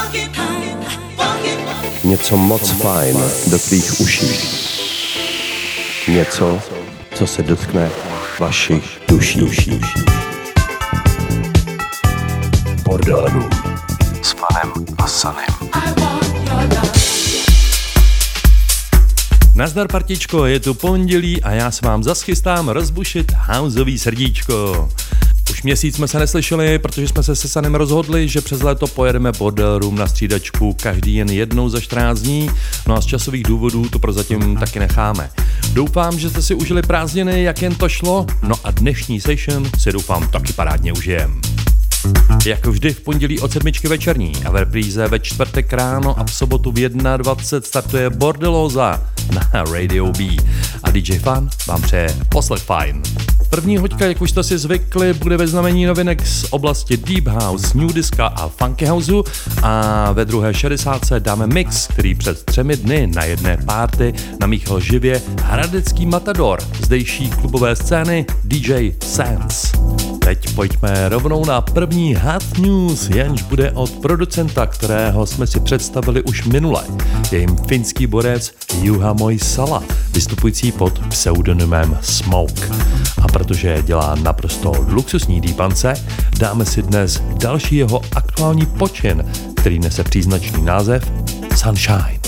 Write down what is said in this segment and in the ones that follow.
Něco moc fajn do tvých uší. Něco, co se dotkne vašich duší. Bordel Room s Fanem a Sanem. Nazdar partičko, je tu pondělí a já se vám zas chystám rozbušit houseový srdíčko. Už měsíc jsme se neslyšeli, protože jsme se Sanem rozhodli, že přes léto pojedeme Bordel Room na střídačku každý jen jednou za 14 dní, no a z časových důvodů to prozatím taky necháme. Doufám, že jste si užili prázdniny, jak jen to šlo, no a dnešní session si doufám taky parádně užijem. Jako vždy v pondělí od 7 večerní a v repríze ve čtvrtek ráno a v sobotu v 21 startuje Bordelóza na Radio B a DJ Fan vám přeje poslech fajn. První hoďka, jak už jste si zvykli, bude ve znamení novinek z oblasti Deep House, New Disca a Funky Houseu a ve druhé 60 dáme mix, který před 3 dny na jedné party namíchal živě hradecký matador zdejší klubové scény DJ Sense. Teď pojďme rovnou na první hot news, jenž bude od producenta, kterého jsme si představili už minule. Je jim finský borec Juha Moisala, vystupující pod pseudonymem Smoke. A protože dělá naprosto luxusní dýpance, dáme si dnes další jeho aktuální počin, který nese příznačný název Sunshine.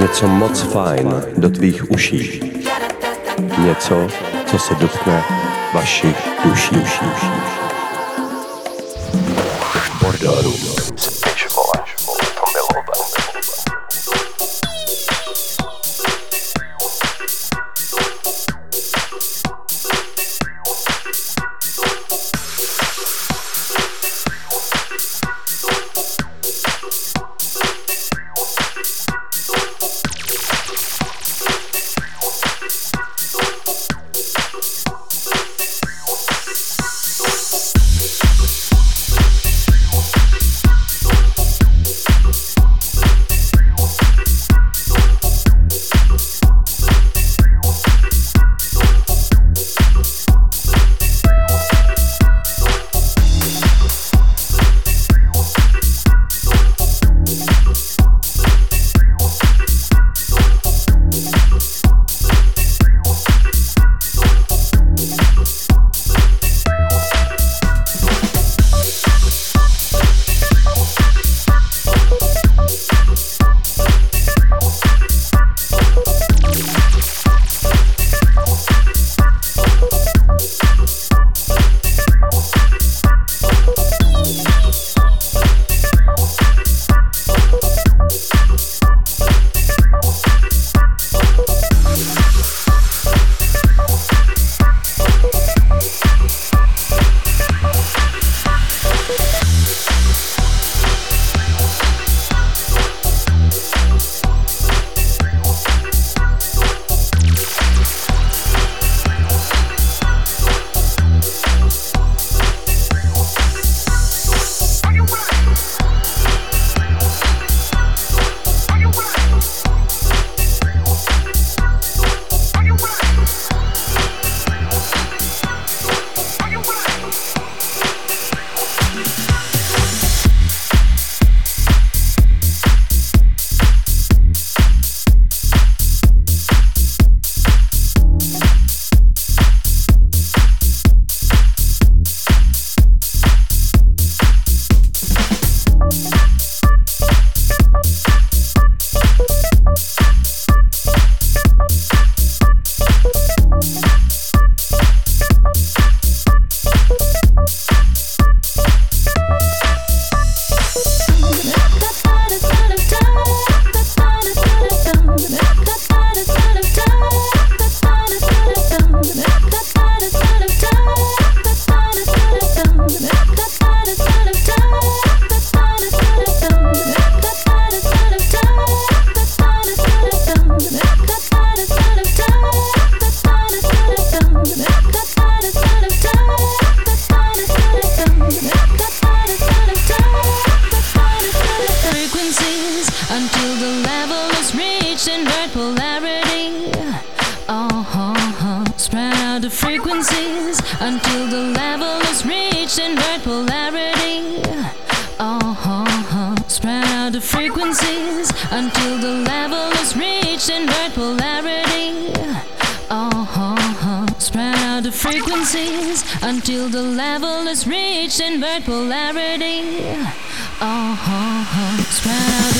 Něco moc fajn do tvých uší. Něco, co se dotkne vašich duší. Bordelů s pičvole, to milové. Until the level is reached invert polarity. Spread out the frequencies until the level is reached invert polarity. Spread out the frequencies until the level is reached invert polarity. Spread out the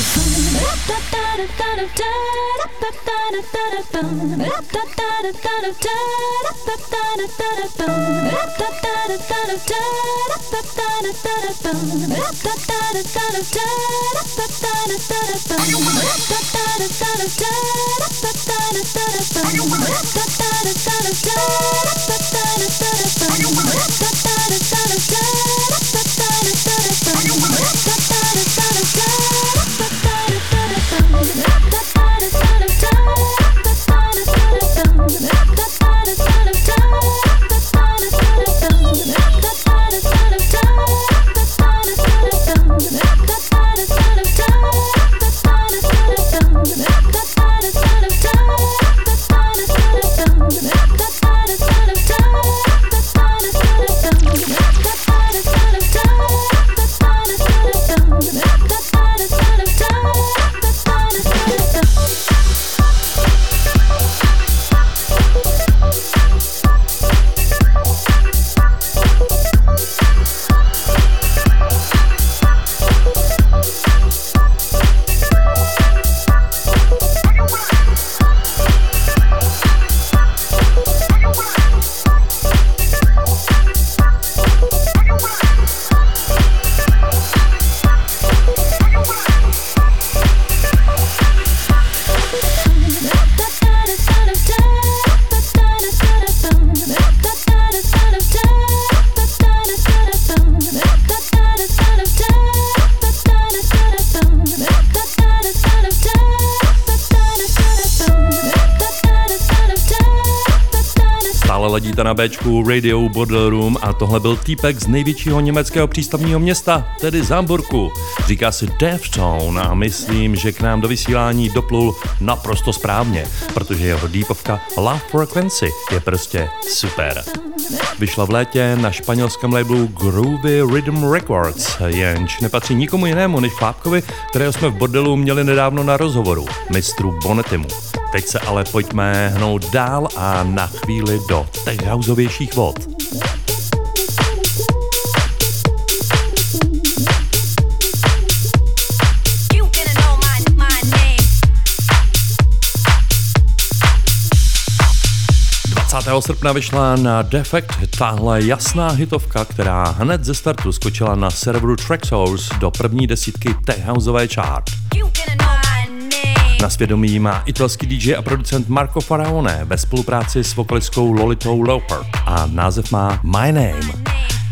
Stále ladíte na Bčku Radio Border Room a tohle byl týpek z největšího německého přístavního města, tedy Hamburku. Říká si Deftone a myslím, že k nám do vysílání doplul naprosto správně, protože jeho deepovka Love Frequency je prostě super. Vyšla v létě na španělském labelu Groovy Rhythm Records, jenž nepatří nikomu jinému než Chlápkovi, kterého jsme v bordelu měli nedávno na rozhovoru, mistru Bonetimu. Teď se ale pojďme hnout dál a na chvíli do techhouseovějších vod. Srpna vyšla na Defect tahle jasná hitovka, která hned ze startu skočila na serveru Traxsource do první desítky techhouseové chart. Na svědomí má italský DJ a producent Marco Faraone ve spolupráci s vokalistkou Lolitou Loper a název má My Name.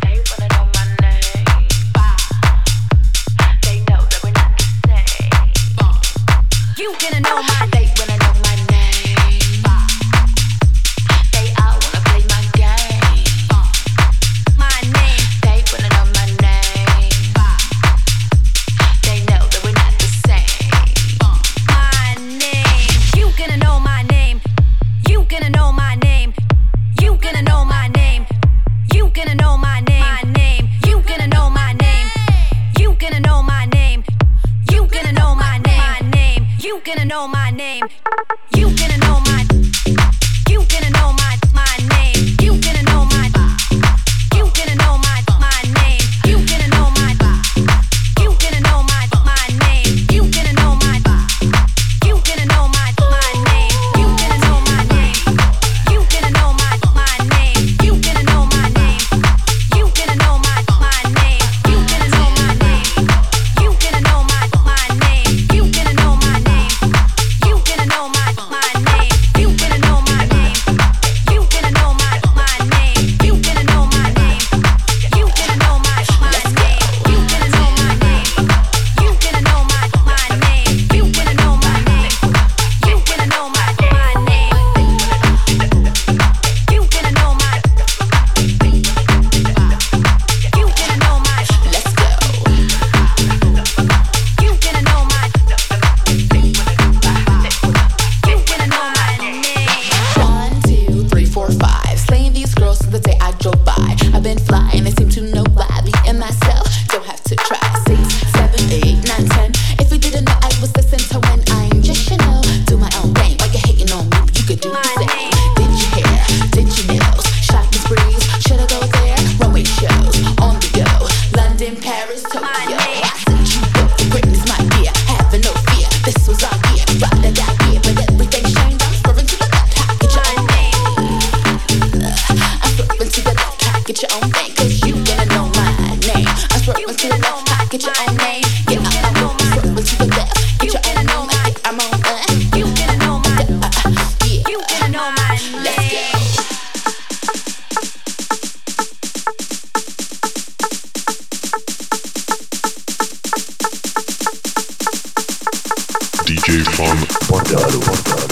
DJ from Bordeaux.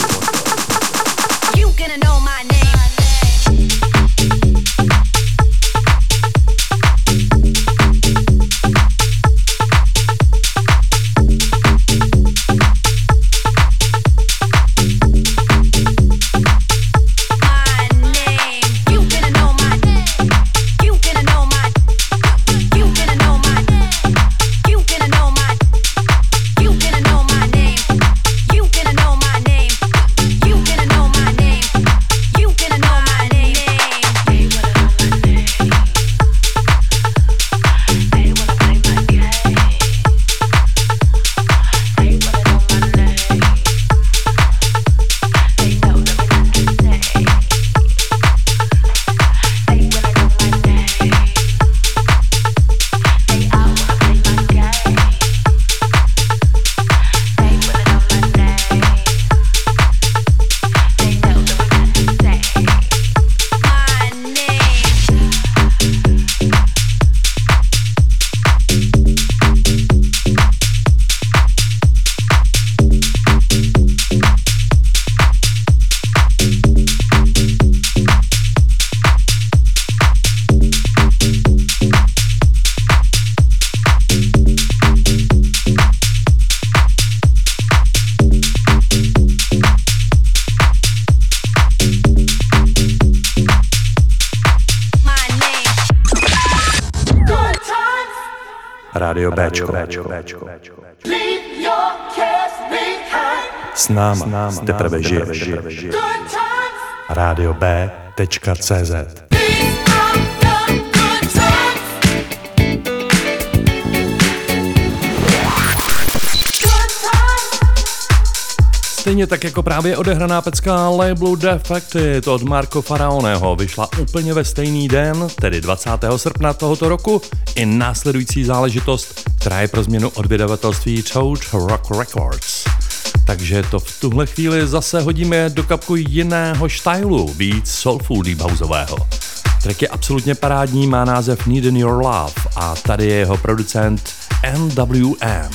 You gonna know my name. Rádio Béčko. S náma teprve žiješ. Rádio B.cz. Stejně tak jako právě odehraná pecka labelu Defected od Marco Faraoneho vyšla úplně ve stejný den, tedy 20. srpna tohoto roku, i následující záležitost, která je pro změnu od vydavatelství Toad Rock Records. Takže to v tuhle chvíli zase hodíme do kapku jiného stylu, víc soulful deep houseového. Track je absolutně parádní, má název Need in Your Love a tady je jeho producent NWM.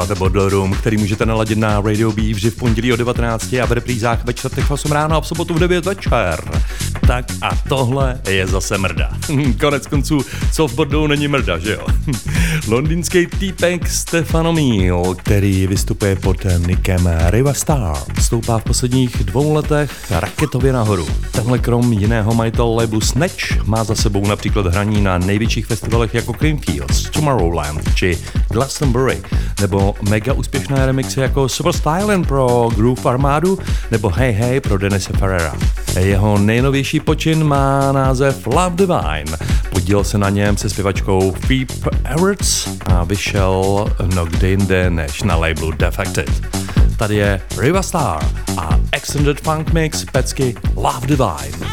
Posloucháte Bordel Room, který můžete naladit na Radio B vždy v pondělí o 19 a v reprízách ve čtvrtek v 8 ráno a v sobotu v 9 večer. Tak a tohle je zase mrda. Konec konců, co v bordelu není mrda, že jo? Londýnský týpek Stefano Mil, který vystupuje pod nickem Riva Star, stoupá v posledních 2 letech raketově nahoru. Tenhle krom jiného majitel labelu Snatch má za sebou například hraní na největších festivalech jako Creamfields, Tomorrowland či Glastonbury, nebo mega úspěšné remixy jako Super Stylin' pro Groove Armadu nebo Hey Hey pro Denise Ferrera. Jeho nejnovější počin má název Love Divine. Podílel se na něm se zpěvačkou Phoebe Edwards a vyšel kde jinde než na labelu Defected. Tady je Riva Star a Extended Funk Mix pecky Love Divine.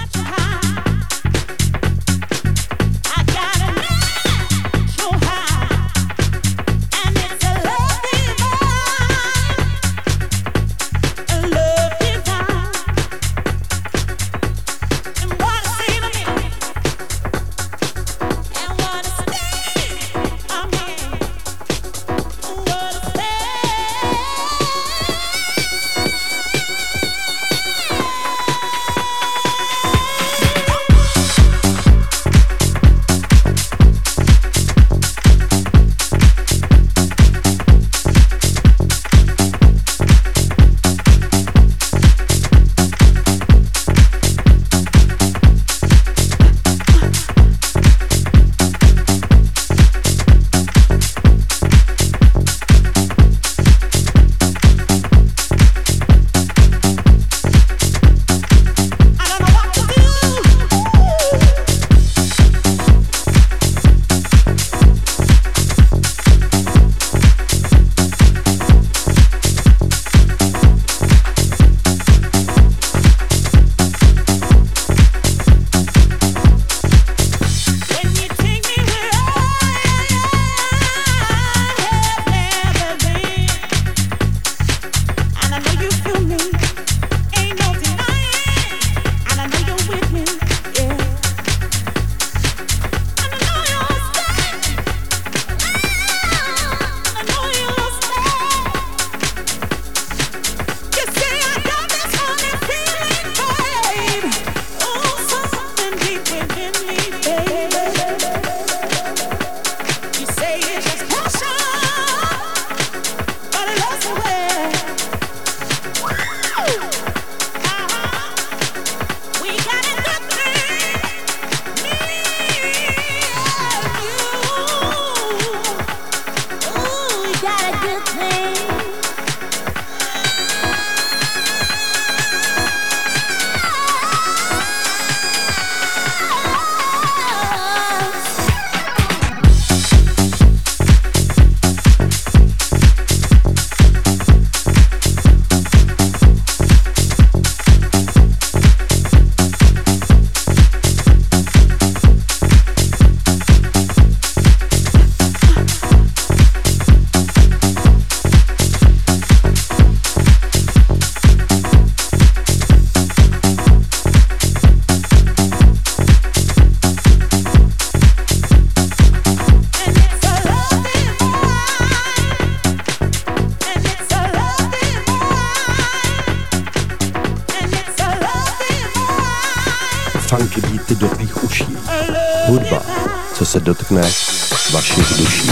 Funky beaty do tvých uší. Hudba, co se dotkne vašich duší.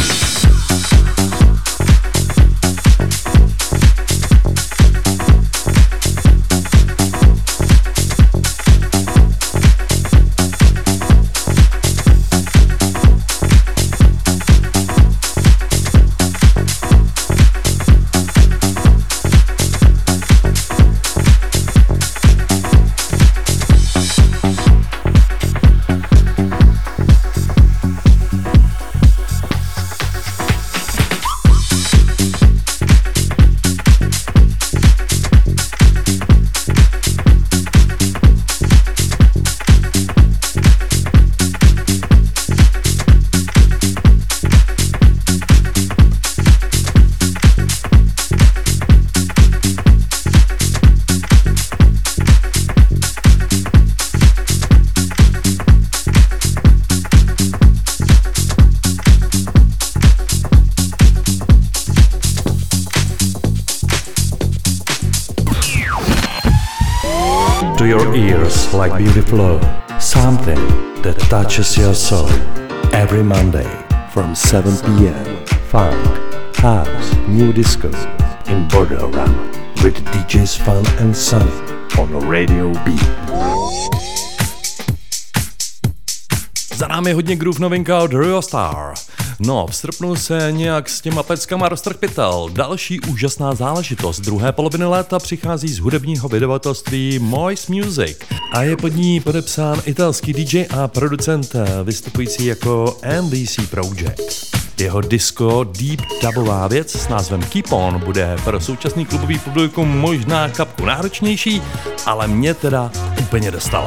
to your ears like beautiful something that touches your soul. Every Monday from 7 p.m. Funk, house, new disco in Border Room with DJs Fun and Sunny on Radio B. Za námi je hodně groove novinka od Rio Star. No, v srpnu se nějak s těma peckama roztrh pytel. Další úžasná záležitost druhé poloviny léta přichází z hudebního vydavatelství Moist Music a je pod ní podepsán italský DJ a producent vystupující jako MDC Project. Jeho disco deep dubová věc s názvem Keep On bude pro současný klubový publikum možná kapku náročnější, ale mě teda úplně dostala.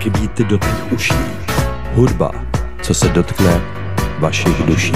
Funky beaty do tvých uší. Hudba, co se dotkne vašich duší.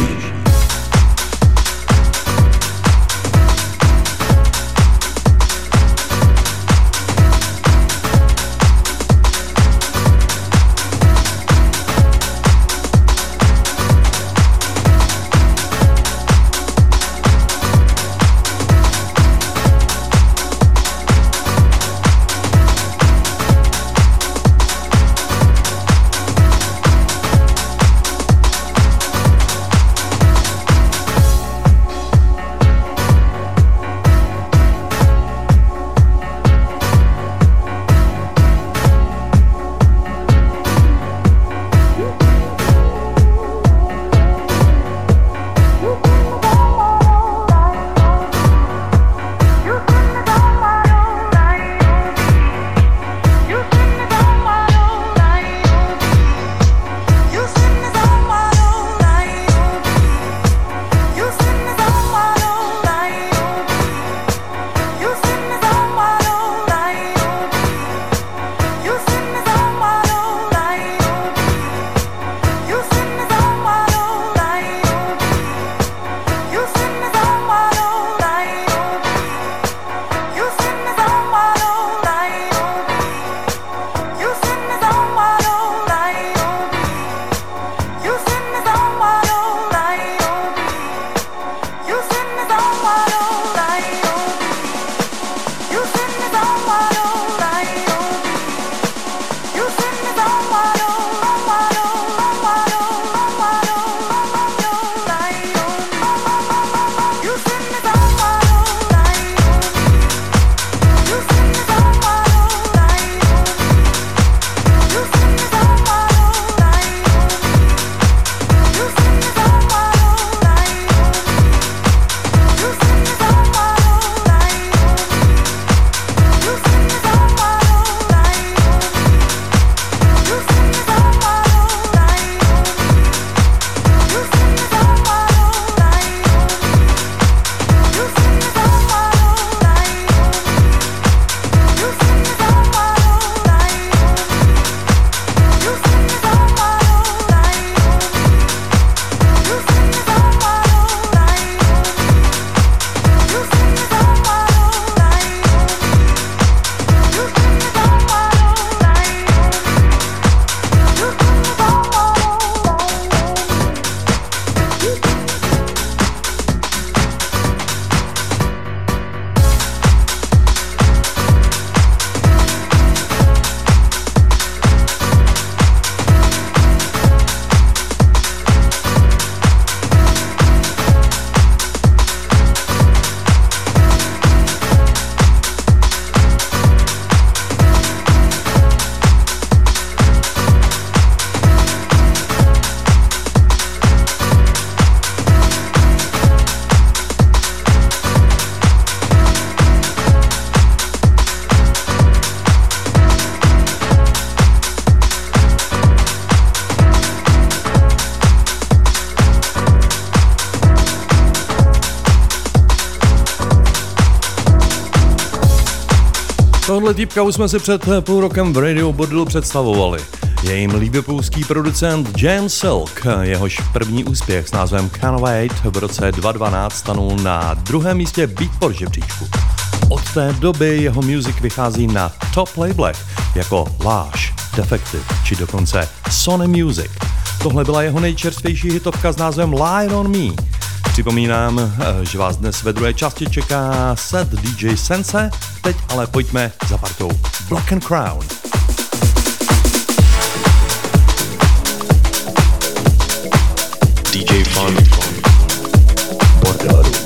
Tohle týpka už jsme si před půl rokem v Radio Bordelu představovali. Je jim líbepolský producent James Silk, jehož první úspěch s názvem Can't Wait v roce 2012 stanul na druhém místě Beatport žebříčku. Od té doby jeho music vychází na top labelech jako Lush, Defective či dokonce Sony Music. Tohle byla jeho nejčerstvější hitovka s názvem Lie on Me. Připomínám, že vás dnes ve druhé části čeká set DJ Sense, teď ale pojďme za partou Black and Crown. DJ Fun Bordelu.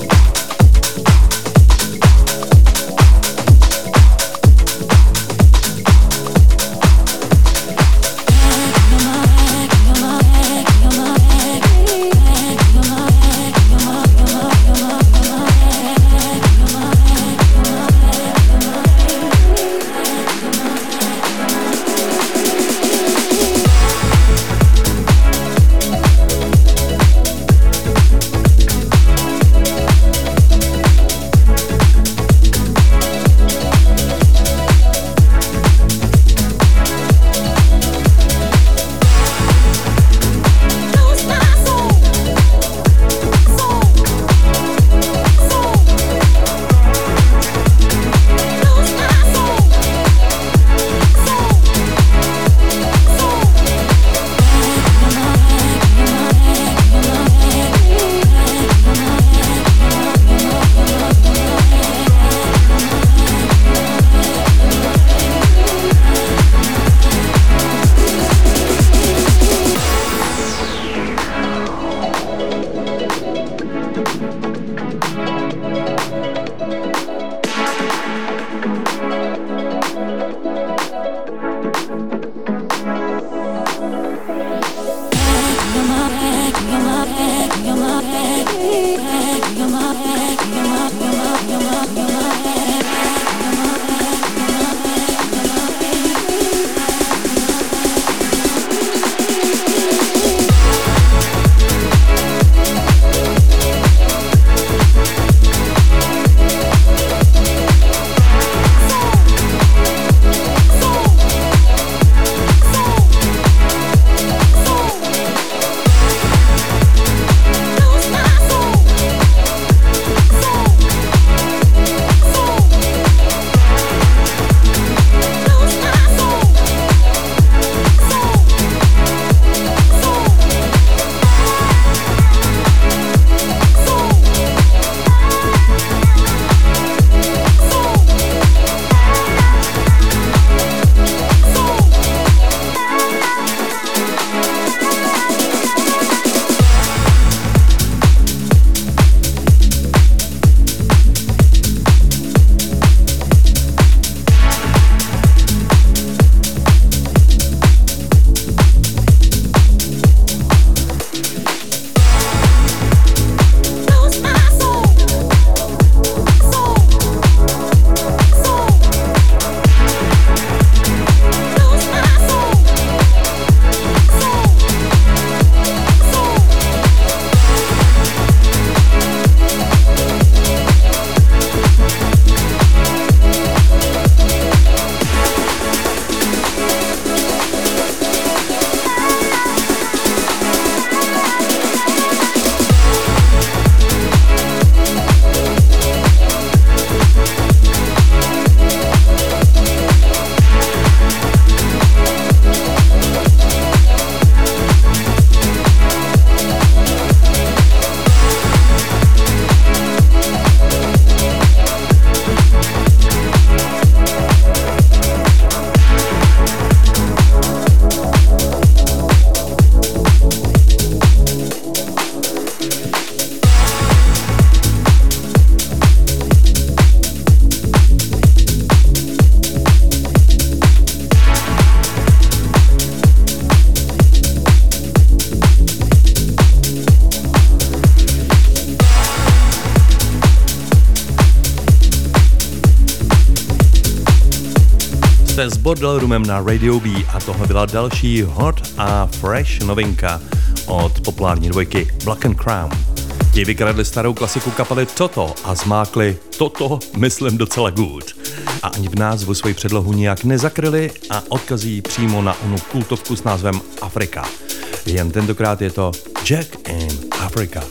Jste s Bordel Roomem na Radio B a tohle byla další hot a fresh novinka od populární dvojky Black and Crown. Ti vykradli starou klasiku kapely Toto a zmákli toto, myslím, docela good. A ani v názvu svoji předlohu nijak nezakryli a odkazí přímo na onu kultovku s názvem Afrika. Jen tentokrát je to Jack in Africa.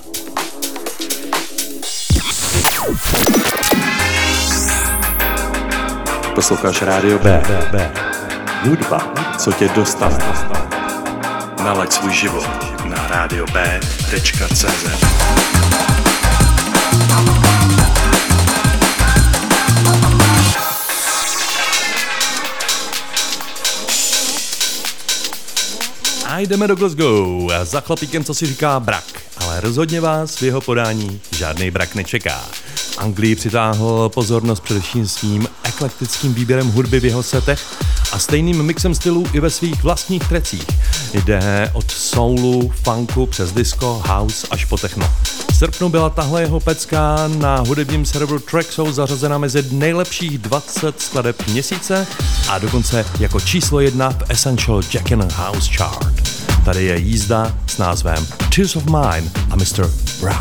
Posloucháš Rádio B. Hudba, co tě dostane. Nalaď svůj život na radiob.cz. A jdeme do Glasgow za chlapíkem, co si říká brak, ale rozhodně vás v jeho podání žádný brak nečeká. Anglii přitáhl pozornost především svým eklektickým výběrem hudby v jeho setech a stejným mixem stylů i ve svých vlastních trecích. Jde od soulu, funku přes disco, house až po techno. V srpnu byla tahle jeho pecka na hudebním serveru Traxsoul zařazena mezi nejlepších 20 skladeb měsíce a dokonce jako číslo 1 v Essential Jackin' House Chart. Tady je jízda s názvem Tears of Mine a Mr. Brack.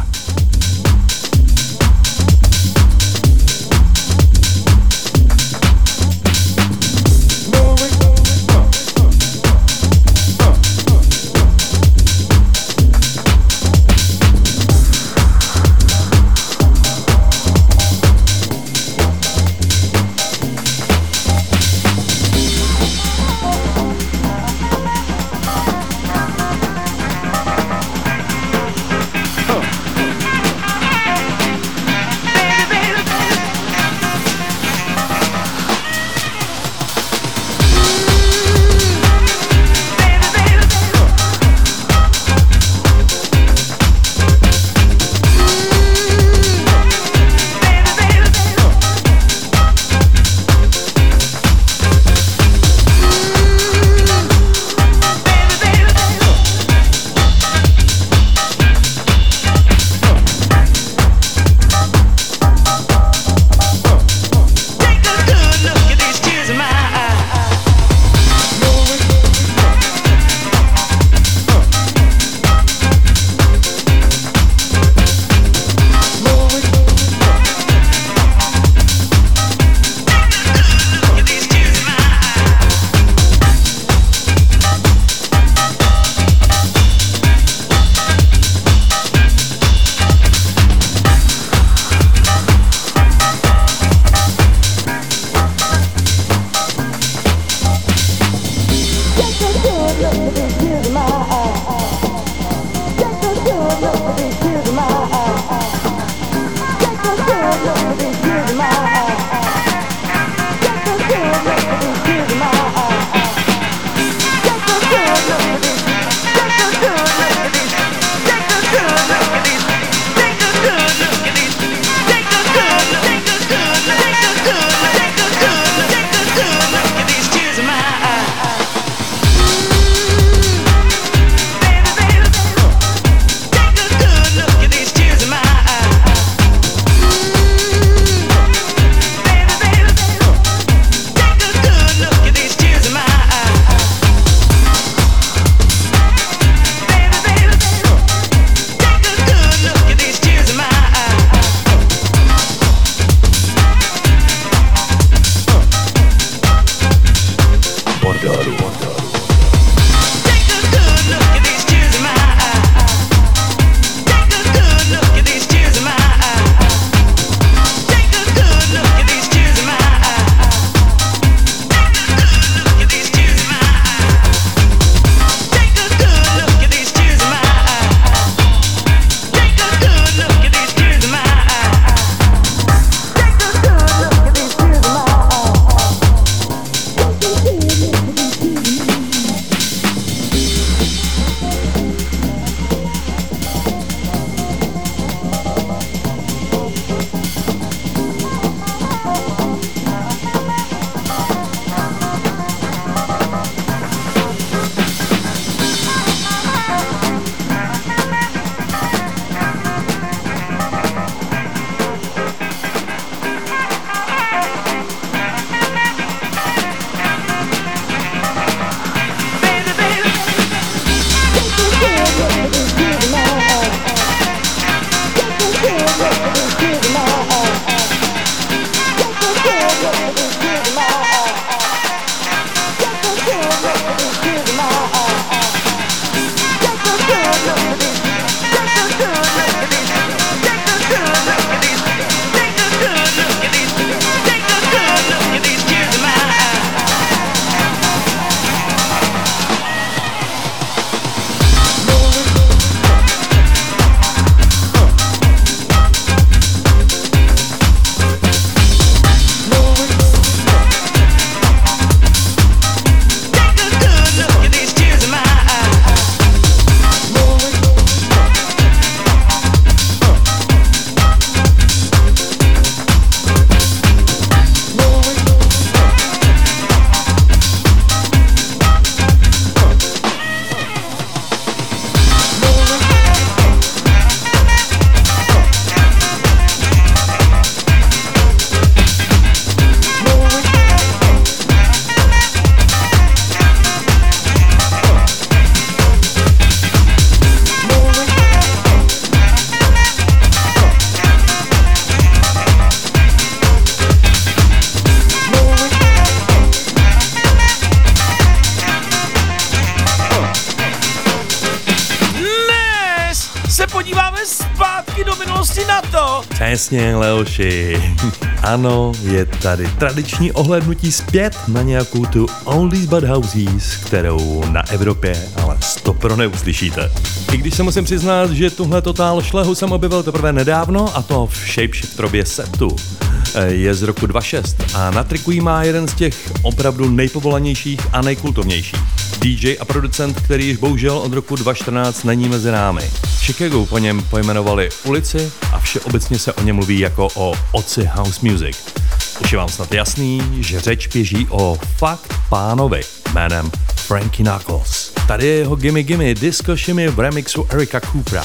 se podíváme zpátky do minulosti na to. Přesně, Leoši. Ano, je tady tradiční ohlédnutí zpět na nějakou tu Oldies but Houses, kterou na Evropě ale stopro neuslyšíte. I když se musím přiznat, že tuhle totál šlehu jsem objevil teprve nedávno, a to v Shapeshifterově setu. Je z roku 2006 a na triku jí má jeden z těch opravdu nejpovolanějších a nejkultovnějších. DJ a producent, který již bohužel od roku 2014 není mezi námi. V Chicagu po něm pojmenovali ulici a všeobecně se o něm mluví jako o otci house music. Už je vám snad jasný, že řeč běží o fakt pánovi jménem Frankie Knuckles. Tady je jeho Gimme Gimme Disco Shimmy v remixu Erika Coopera.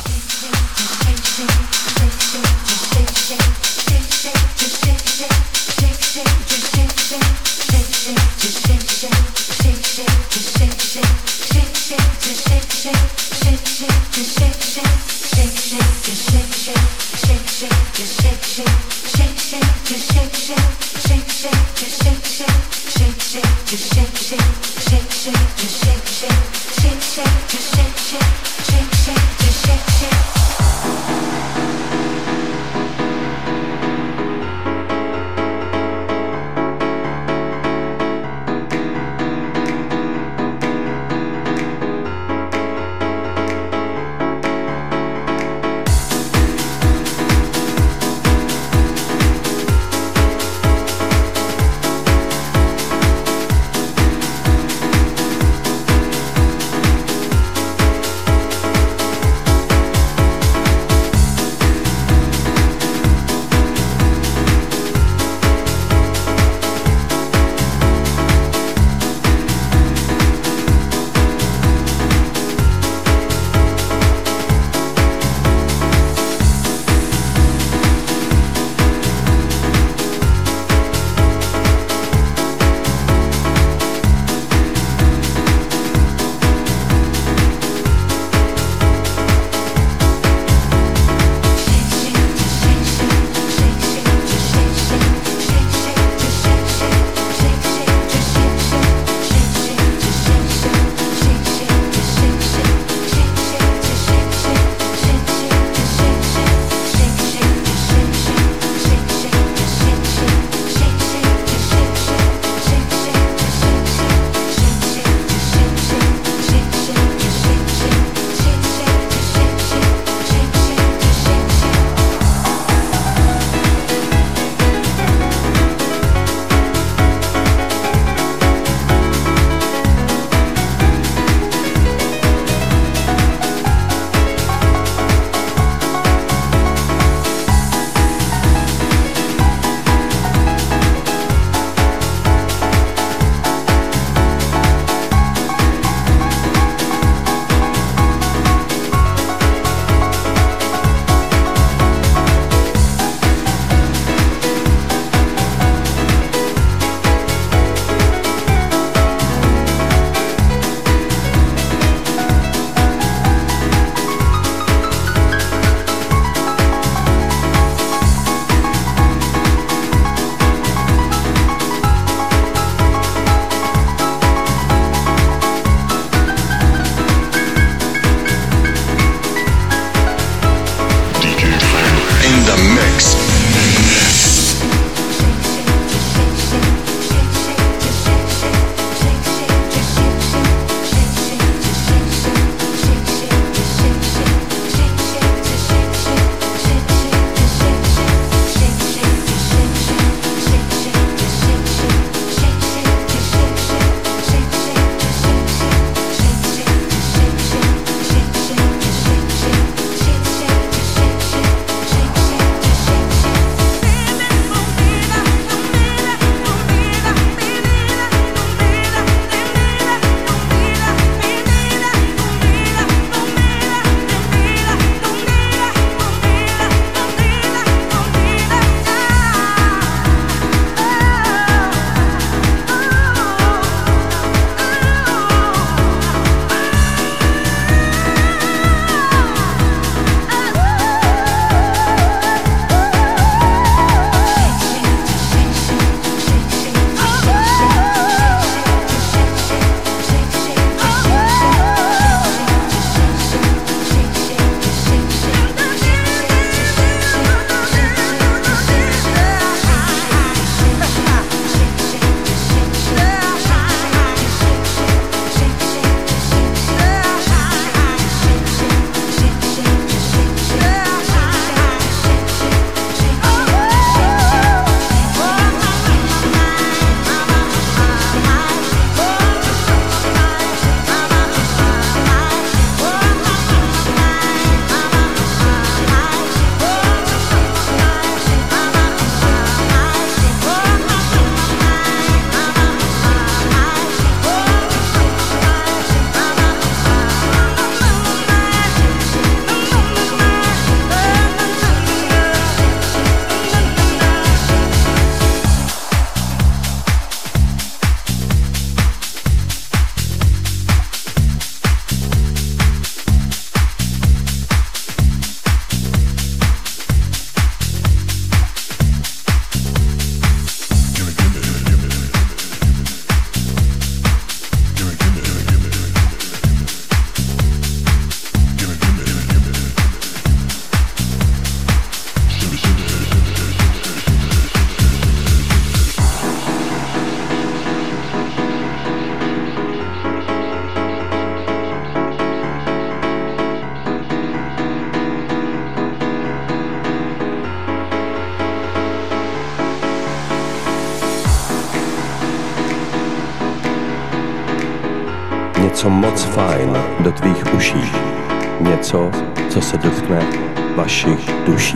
Něco moc fajn do tvých uší. Něco, co se dotkne vašich duší.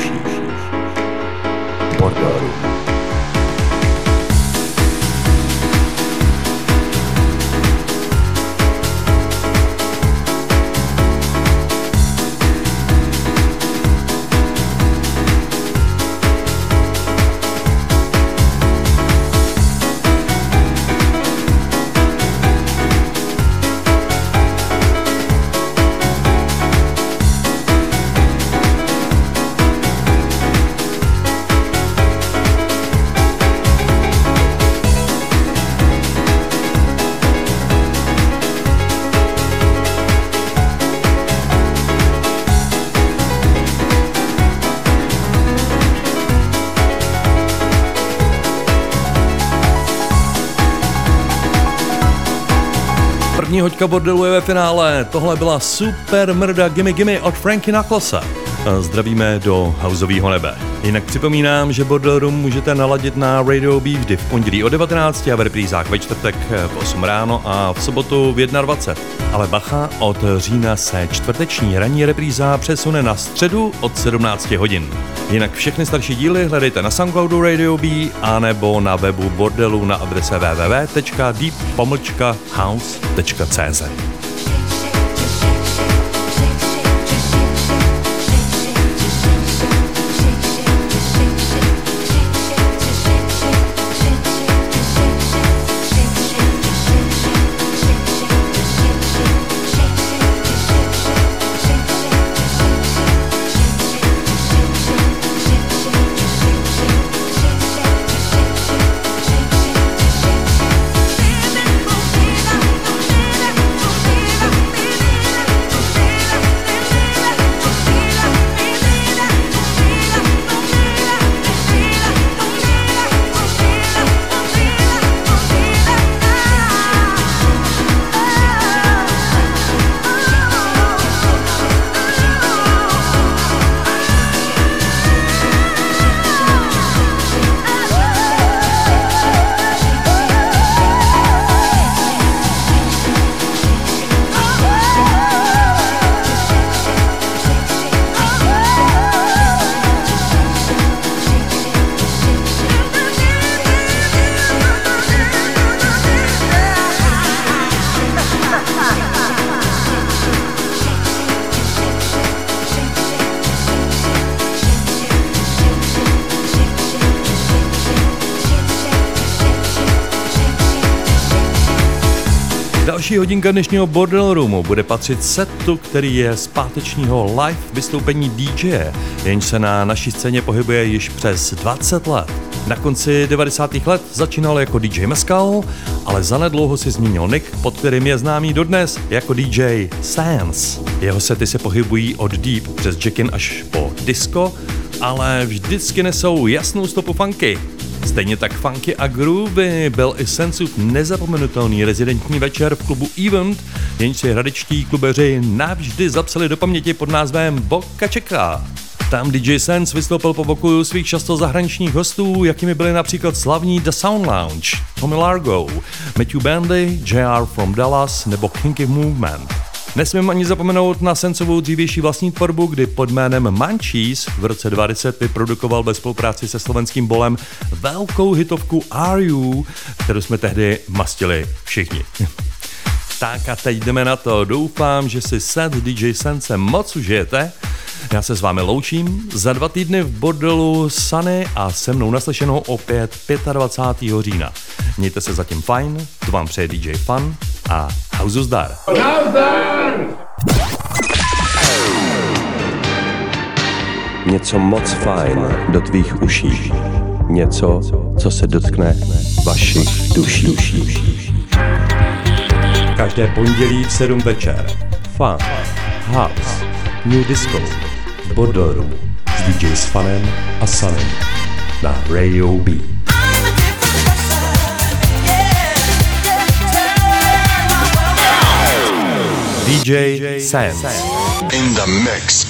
Bordelů. První hoďka bordelu je ve finále. Tohle byla super mrda Gimme Gimme od Frankie Knucklese. Zdravíme do houseového nebe. Jinak připomínám, že Bordel Room můžete naladit na Radio B vždy v pondělí o 19 a v reprízách ve čtvrtek v 8 ráno a v sobotu v 21. Ale bacha, od října se čtvrteční ranní repríza přesune na středu od 17 hodin. Jinak všechny starší díly hledejte na Soundcloudu Radio B a nebo na webu bordelu na adrese www.deep-house.cz. Další hodinka dnešního Bordel Roomu bude patřit setu, který je z pátečního live vystoupení DJ, jenž se na naší scéně pohybuje již přes 20 let. Na konci 90. let začínal jako DJ Mescal, ale zanedlouho si změnil nick, pod kterým je známý dodnes jako DJ Sans. Jeho sety se pohybují od deep přes jackin až po disco, ale vždycky nesou jasnou stopu funky. Stejně tak funky a groovy byl i Sensův nezapomenutelný rezidentní večer v klubu Event, jenž si hradečtí klubeři navždy zapsali do paměti pod názvem Boca Chica. Tam DJ Sense vystoupil po boku svých často zahraničních hostů, jakými byli například slavní The Sound Lounge, Tommy Largo, Matthew Bandy, JR from Dallas nebo Kinky Movement. Nesmím ani zapomenout na Sensovou dřívější vlastní tvorbu, kdy pod jménem Munchies v roce 20 vyprodukoval ve spolupráci se slovenským Bolem velkou hitovku Are You, kterou jsme tehdy mastili všichni. Tak a teď jdeme na to. Doufám, že si set DJ Sense moc užijete. Já se s vámi loučím. Za 2 týdny v Bordelu Sunny a se mnou naslyšenou opět 25. října. Mějte se zatím fajn, to vám přeje DJ Fun a hauzu zdar. Něco moc fajn do tvých uší. Něco, co se dotkne vašich duší. Každé pondělí v 7 večer. Fun, house, new disco, Bordel Room s DJs Funem a Sunnem na Radio B. DJ Sense In the mix.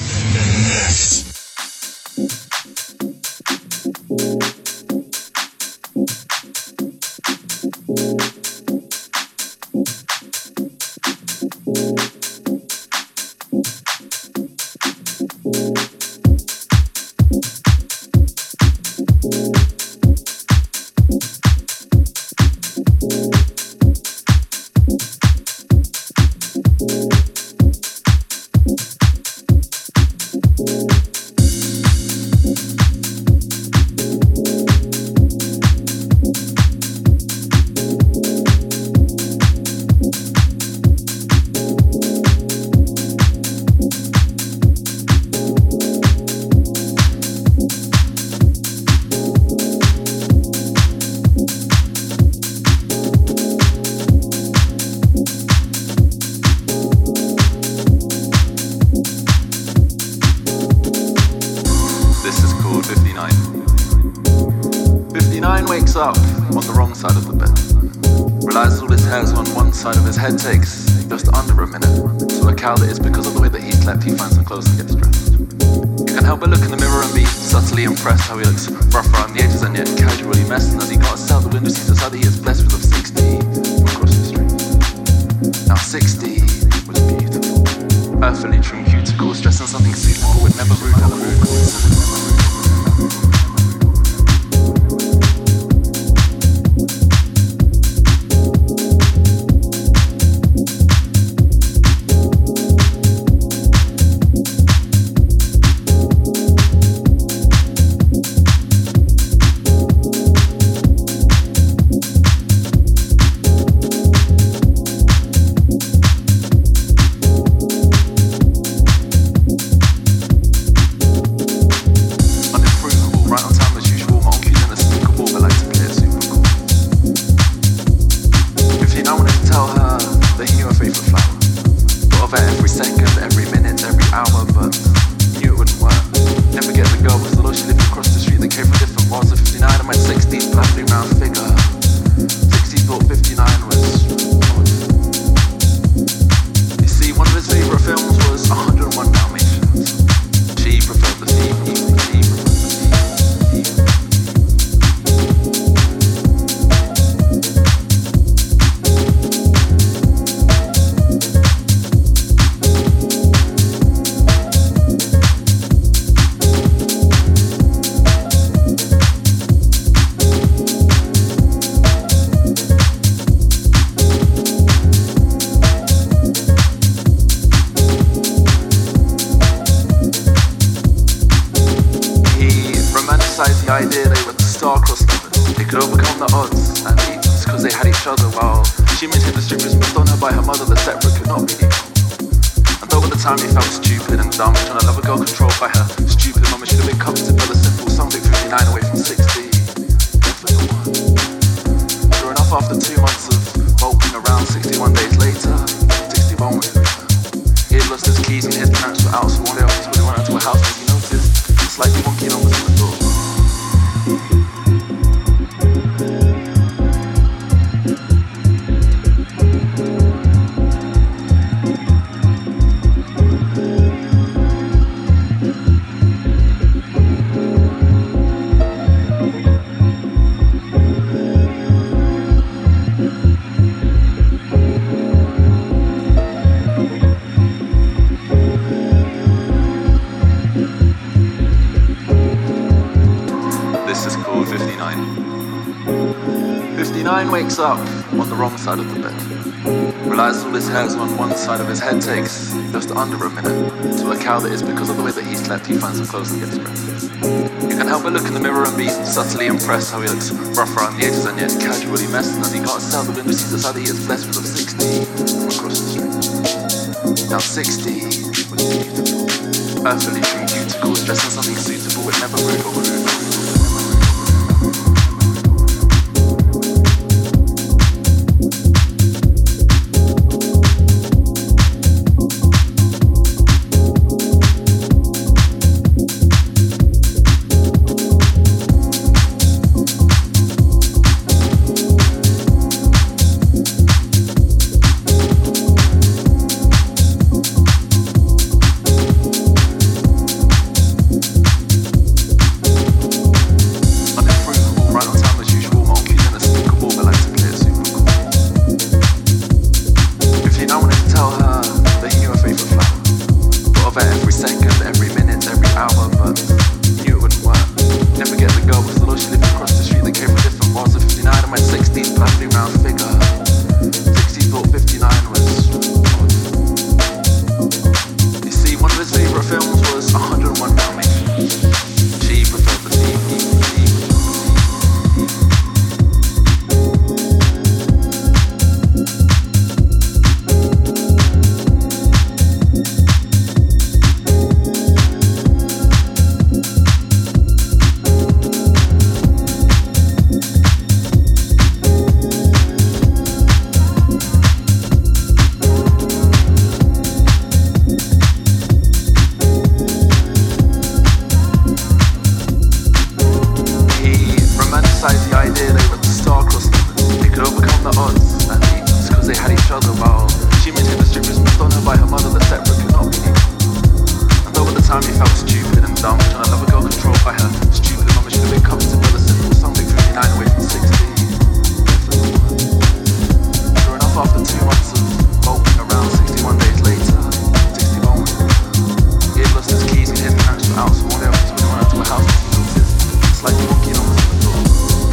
up on the wrong side of the bed. Realizes all his hairs on one side of his head takes just under a minute to work out that it's because of the way that he slept he finds some clothes and gets dressed. You can help but look in the mirror and be subtly impressed how he looks rough around the edges and yet casually messed, and as he glances out the window sees the side that he is blessed with of 60 from across the street. Now 60 was beautiful, earthily true cuticles, dressed in something suitable with never rude or rude coincidence. Up on the wrong side of the bed. Realizes all his hairs on one side of his head takes just under a minute to work out that it's because of the way that he slept he finds some clothes and gets dressed. You can help but look in the mirror and be subtly impressed how he looks rough around the edges and yet casually messed, and as he glances out the window sees the side that he is blessed with of 60 from across the street. Now 60 was beautiful, earthily true cuticles, dressed in something suitable with never rude or rude. house, and all they have to do is run out to a house and it's like walking on the door.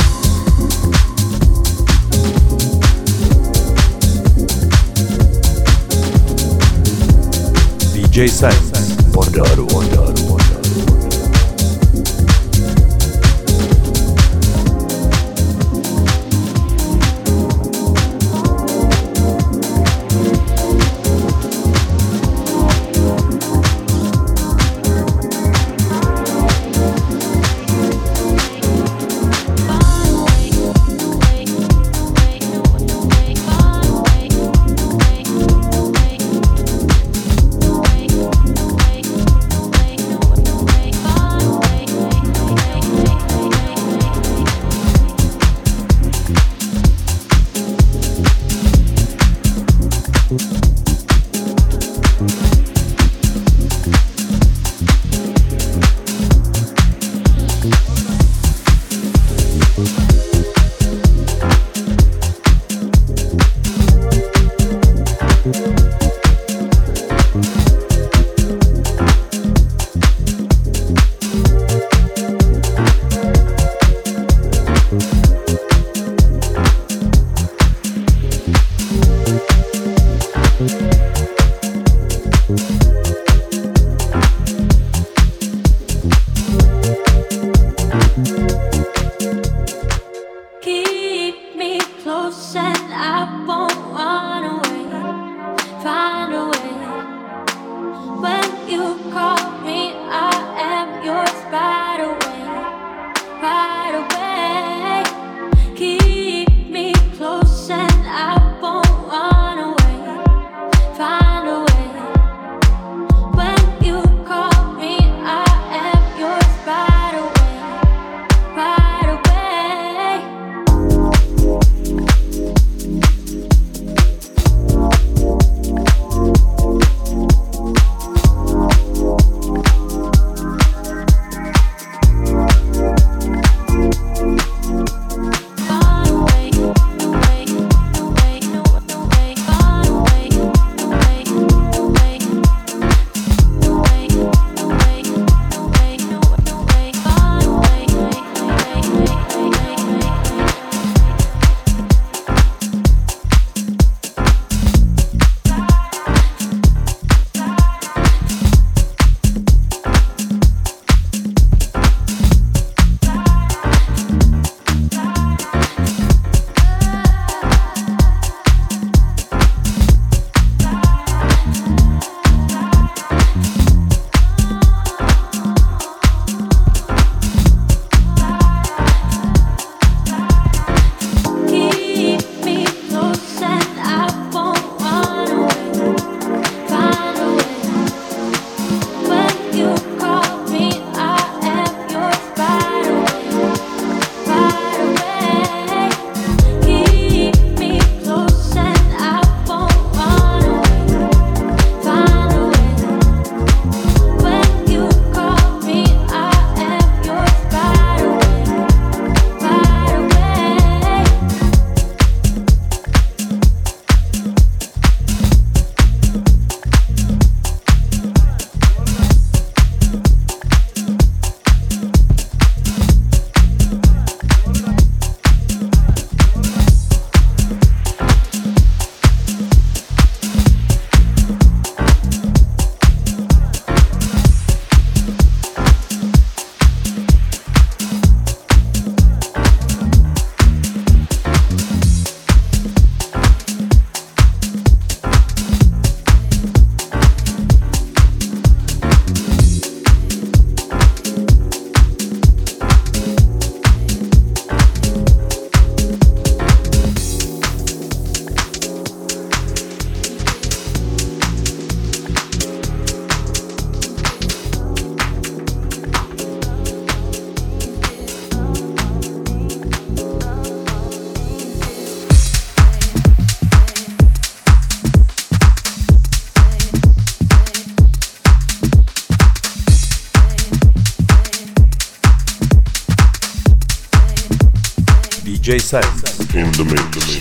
DJ Sense. Borderu. DJ Sense in the mix.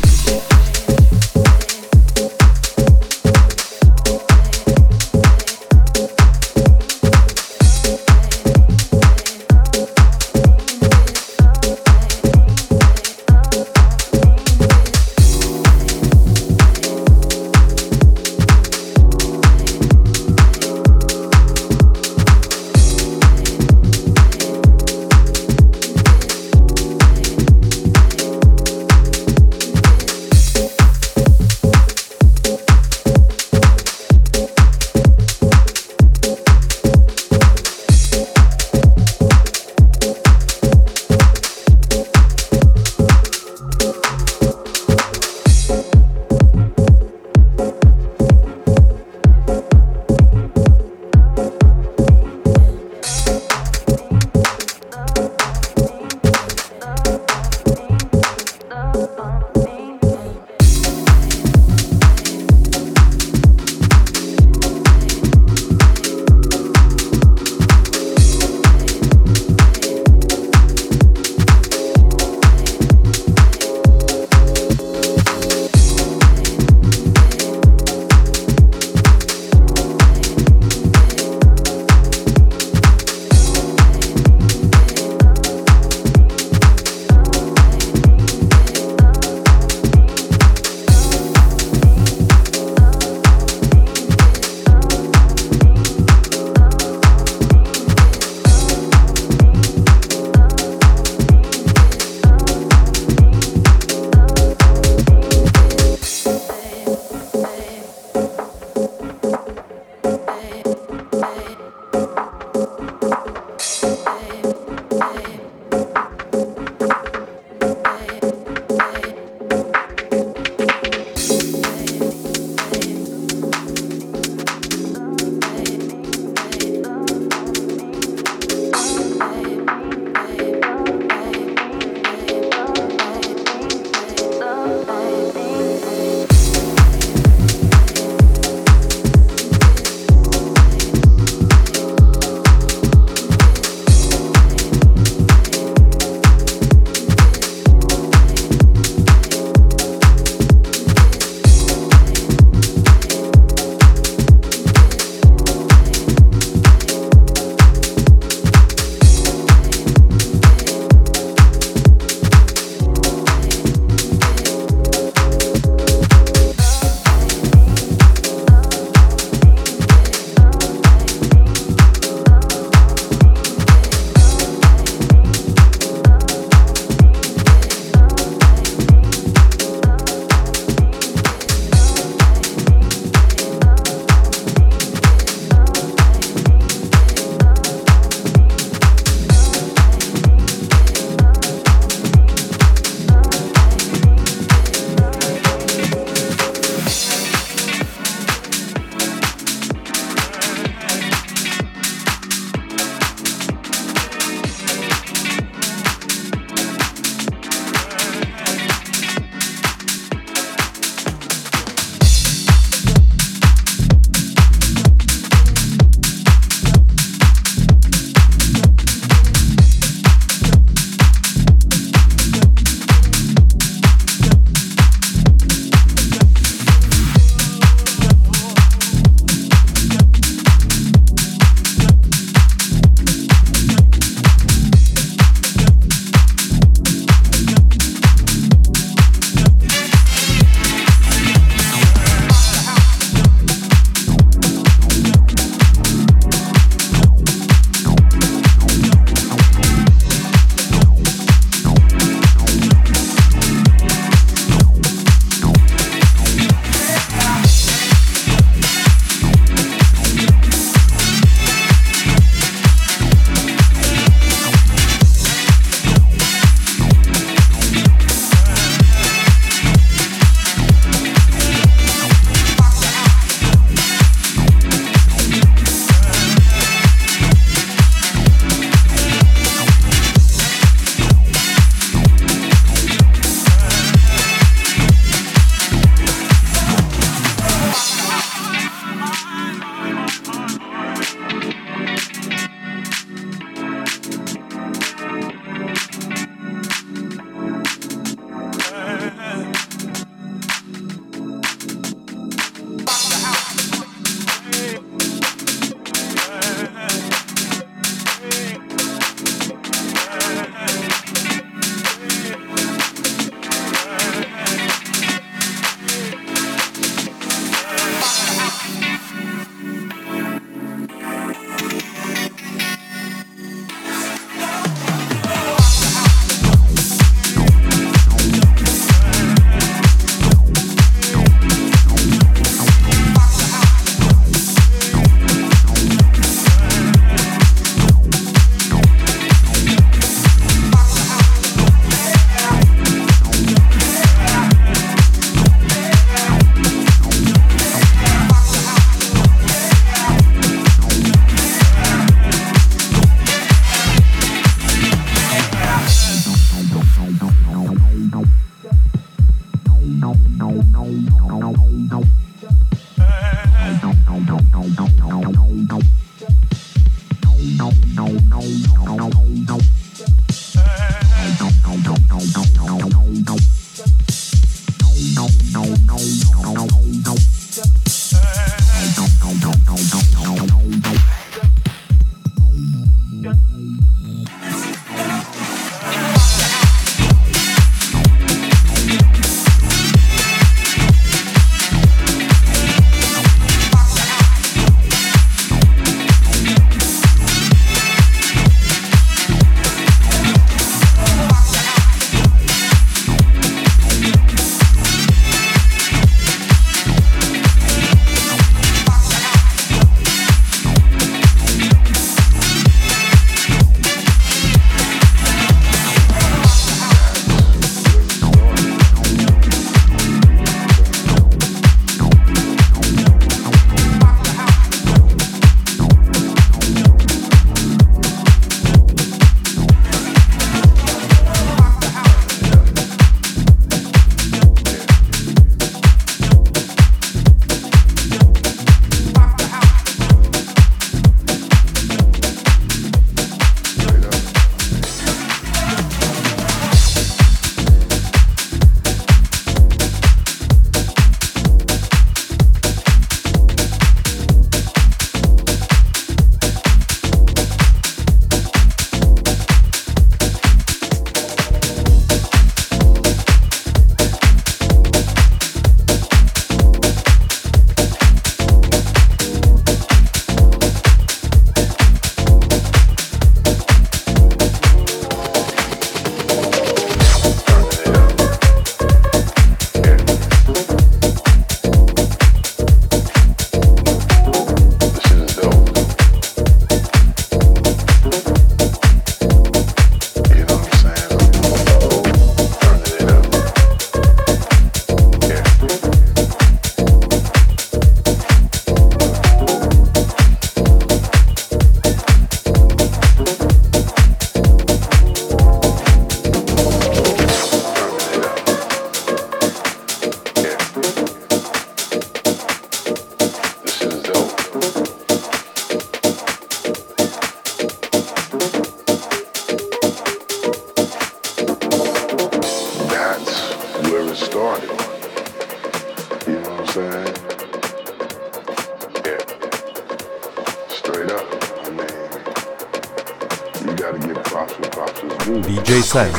DJ Sense.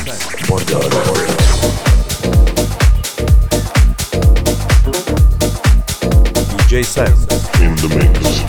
DJ Sense. In the mix.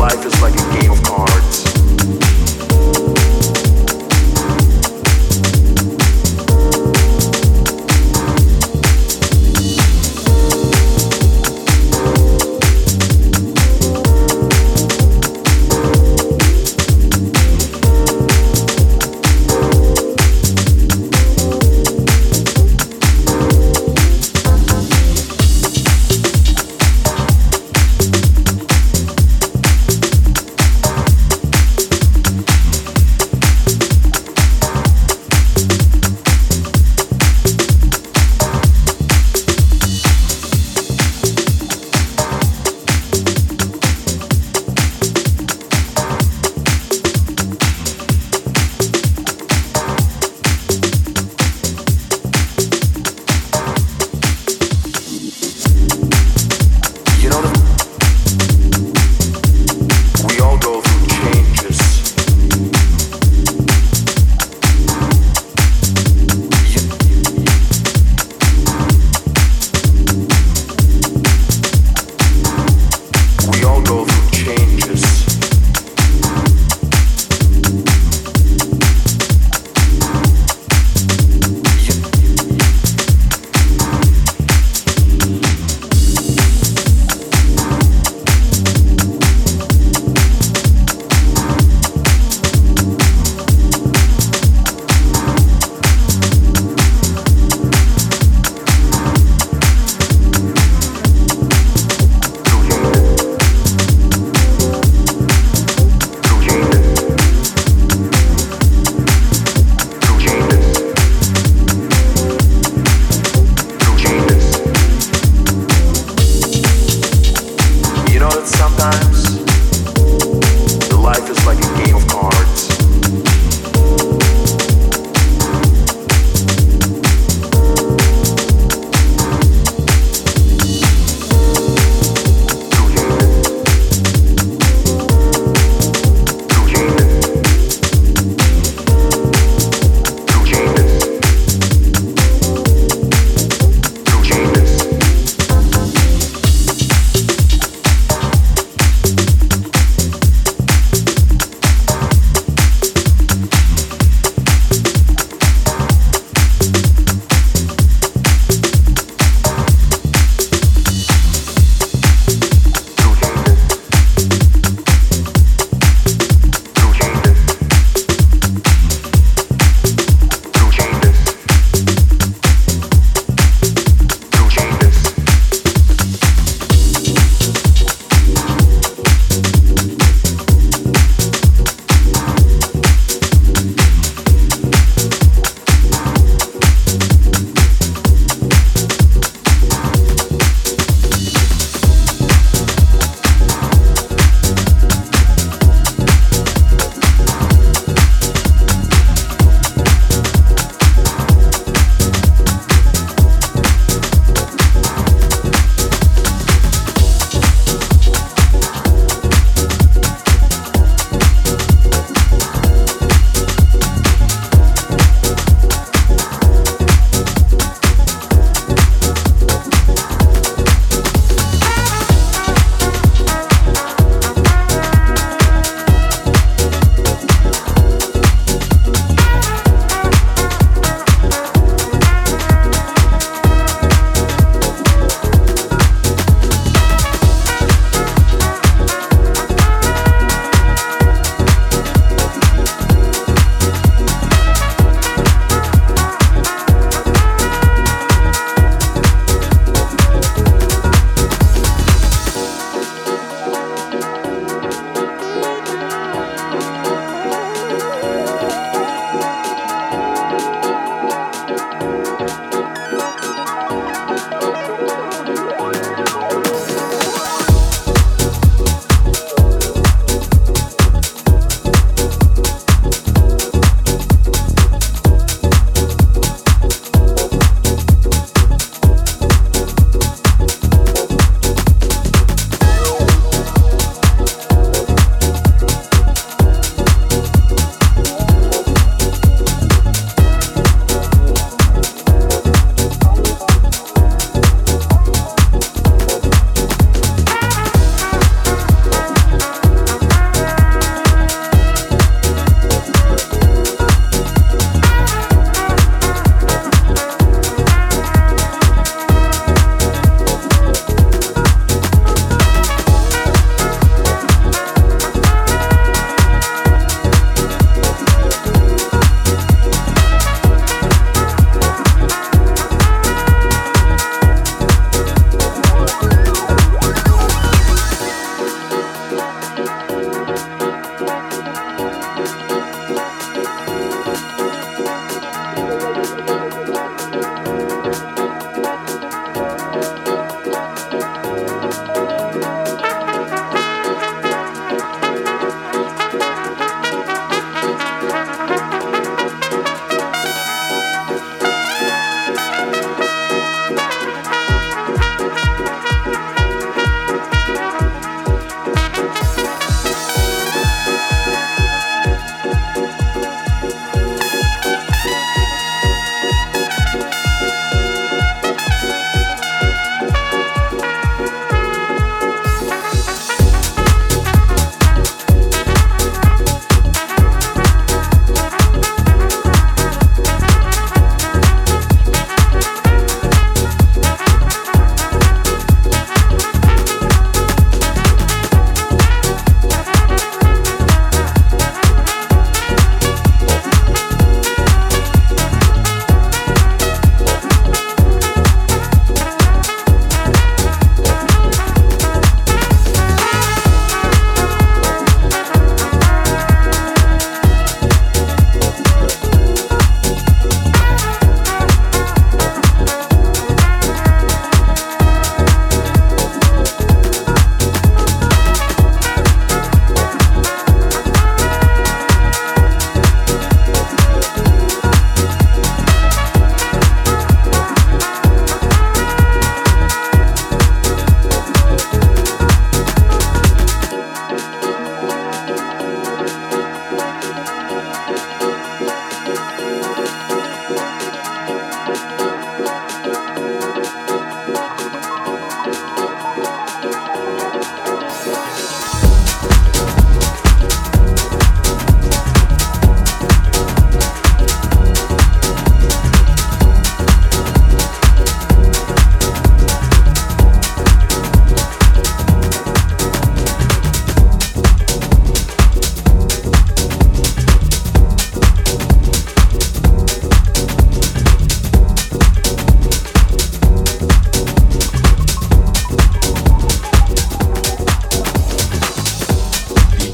life is like a game of cards.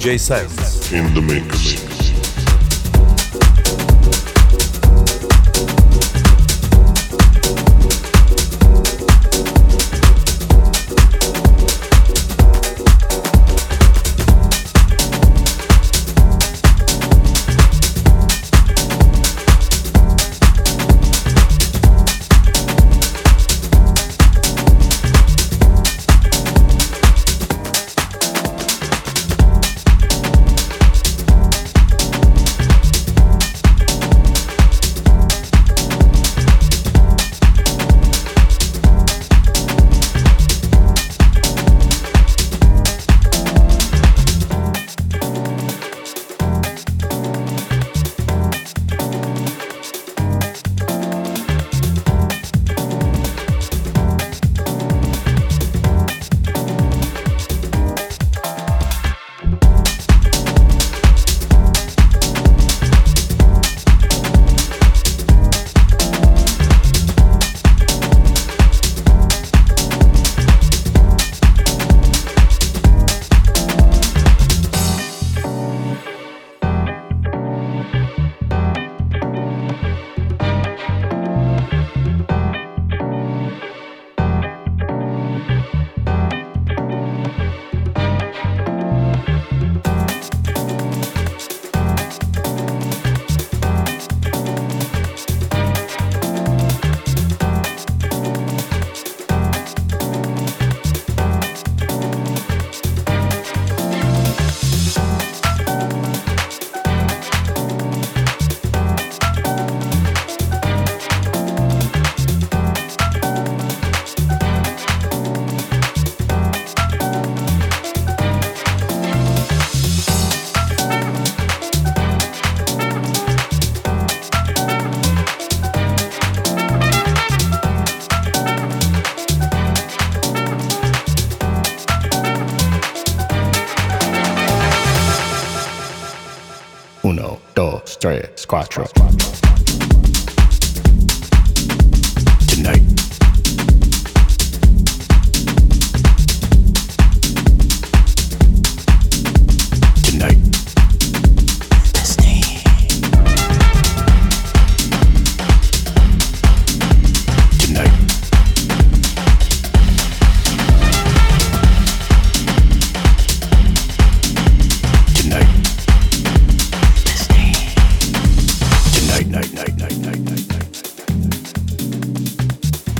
DJ Sense. In the mix. Uno, dos, tres, cuatro. Tonight. Tonight. Tonight. Tonight. Night.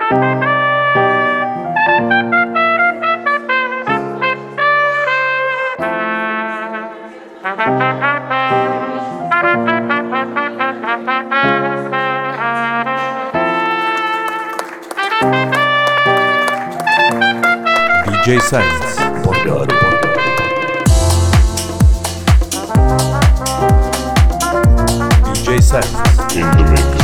DJ Sense. Borderu. DJ Sense. In the mix.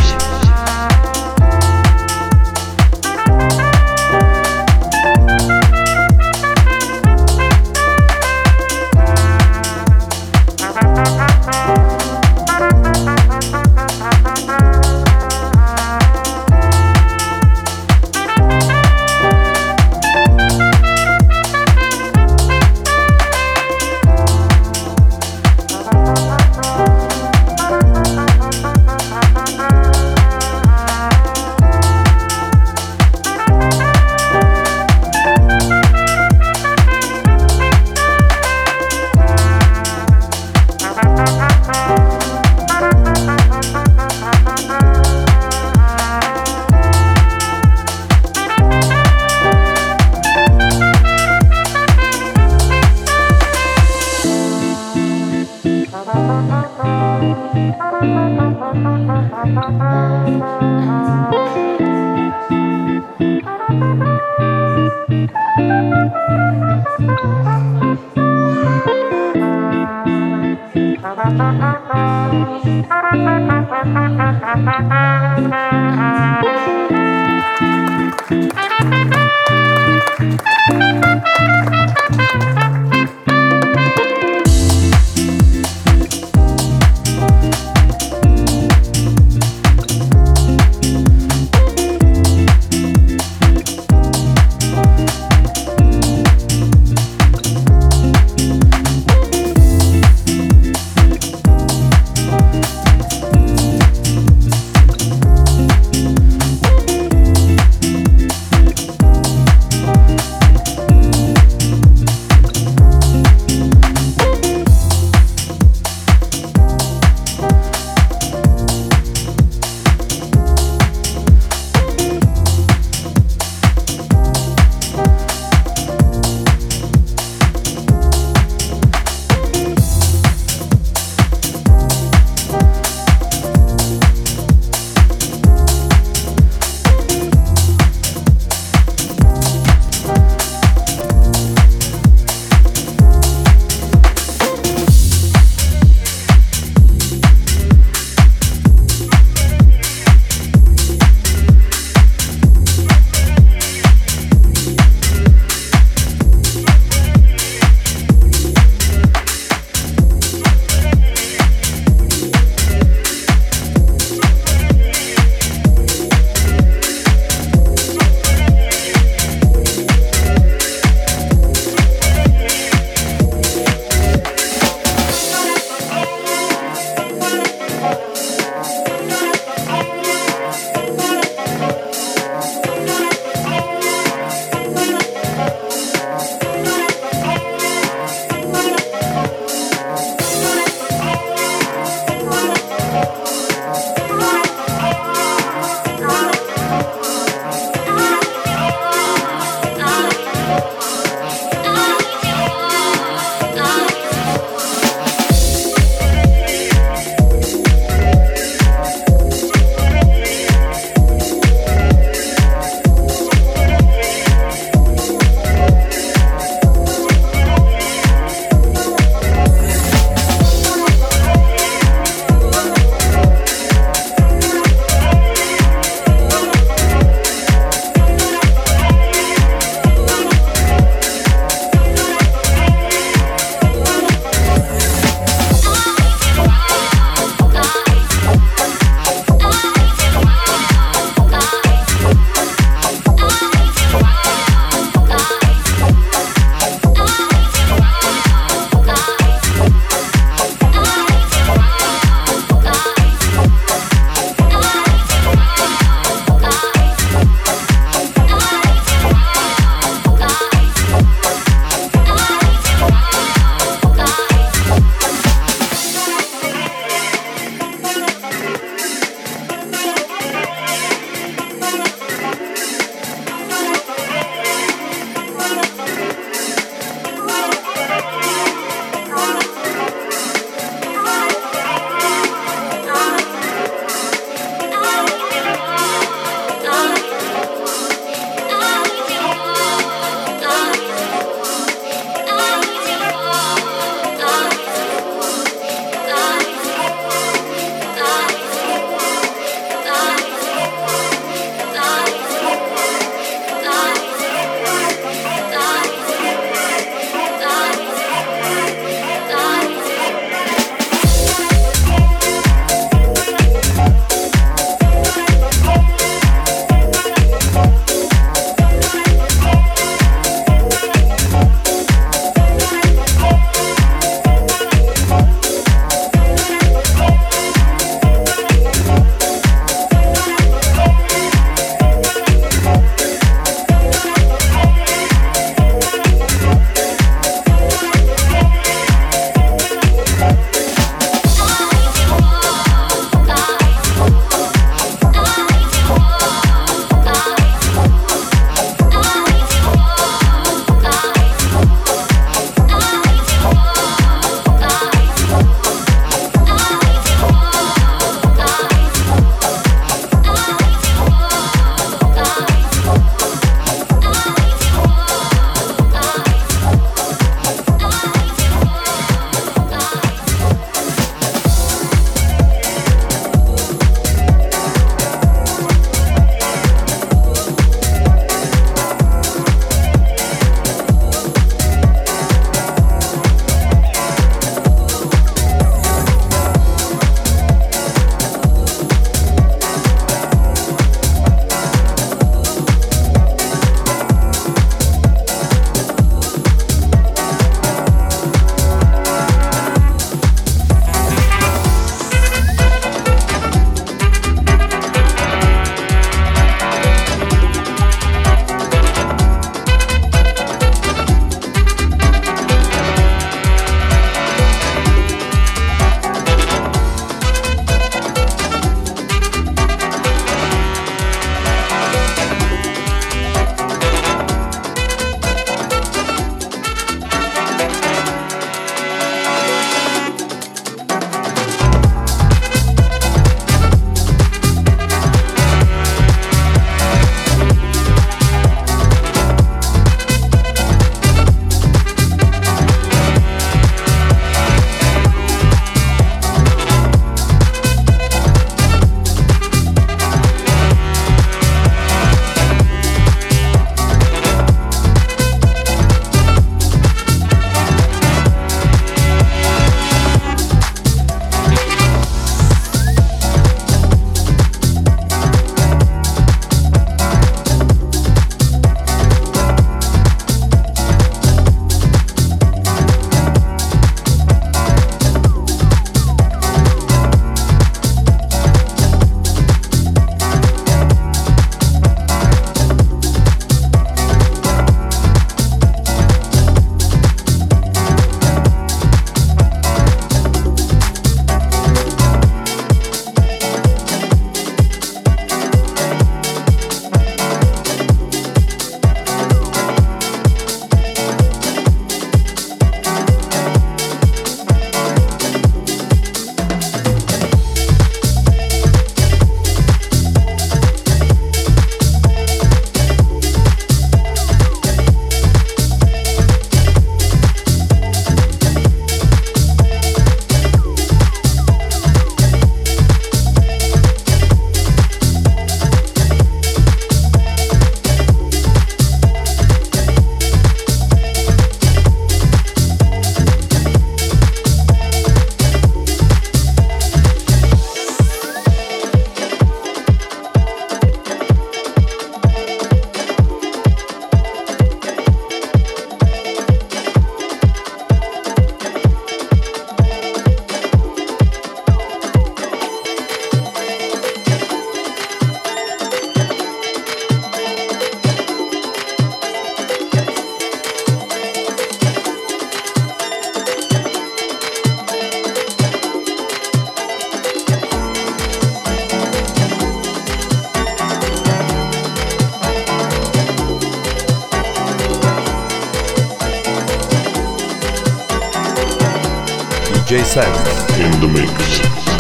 DJ Sam In the mix.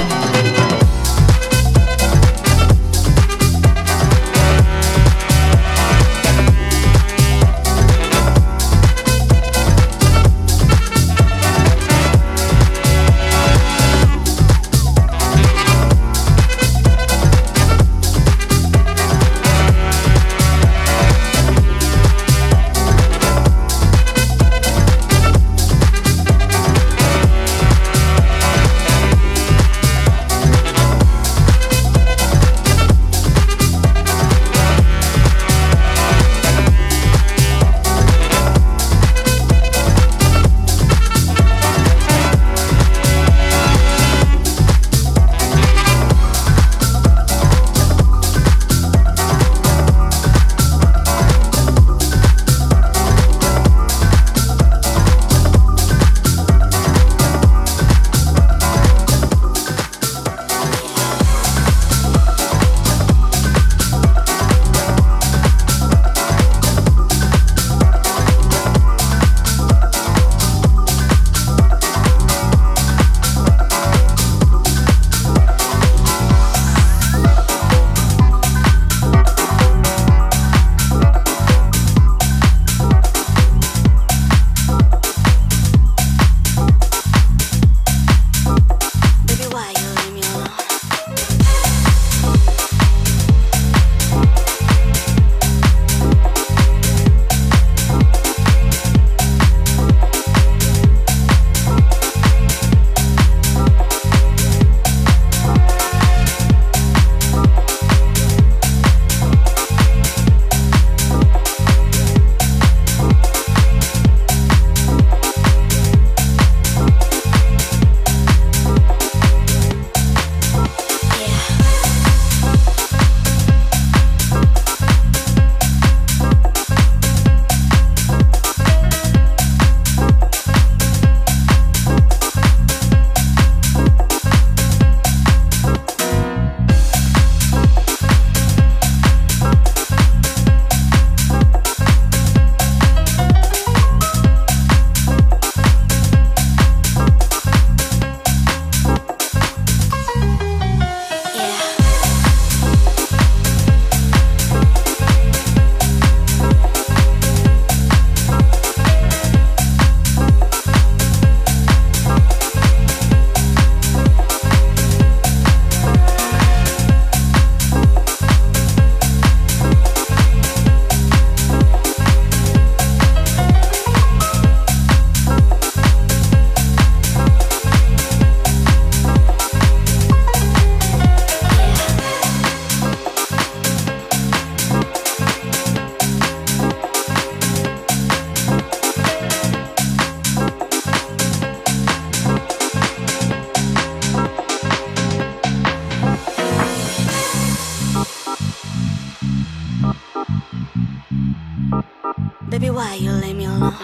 Baby, why you leave me alone?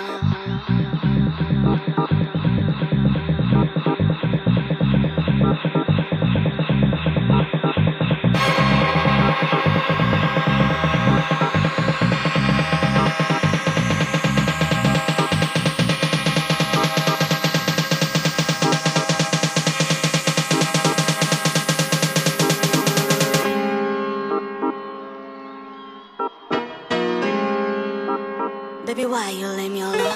Baby, why you leave me alone?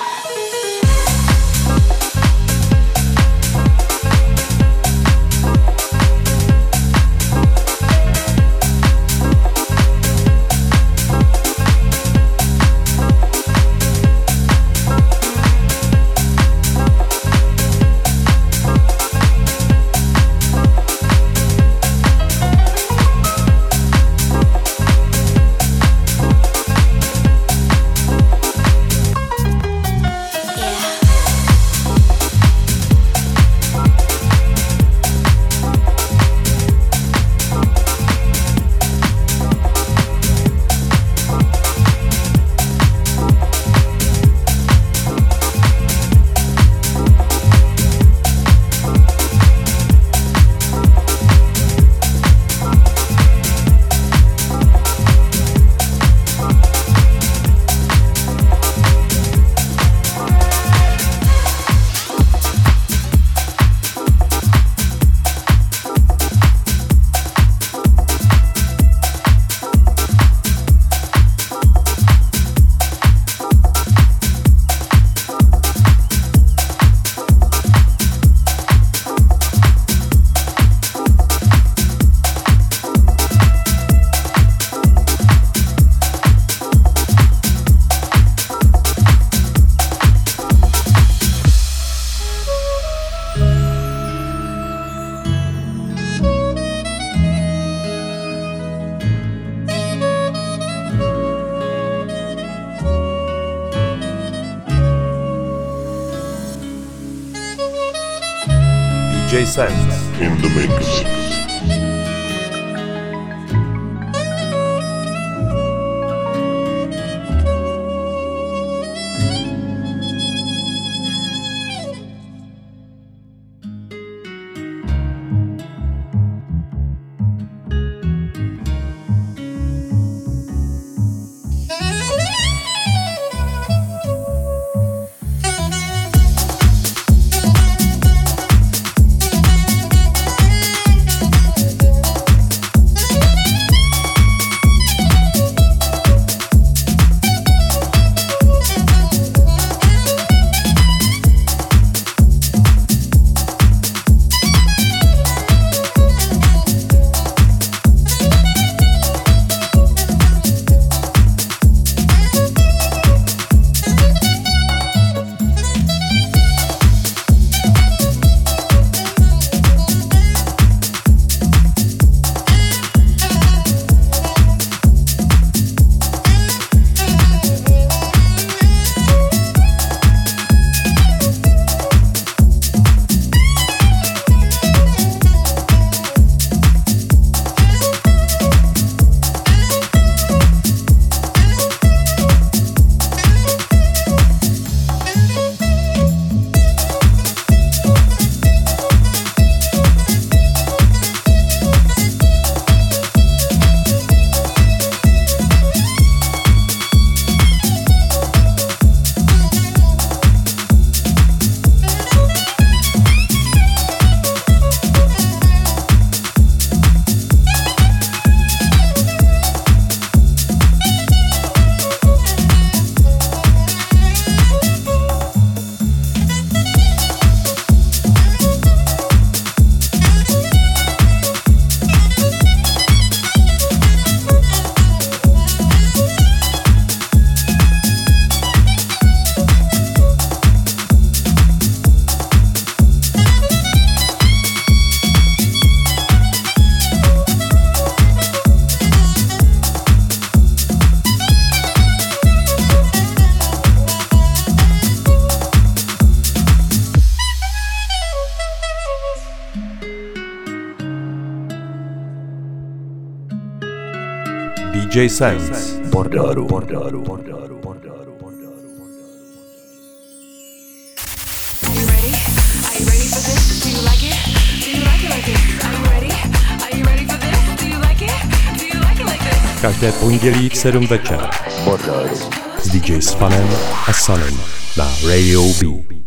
DJ Sense in the mix. DJ Sense Bordaru. Každé pondělí v 7 večer s DJ Fanem a Sunem na Radio B.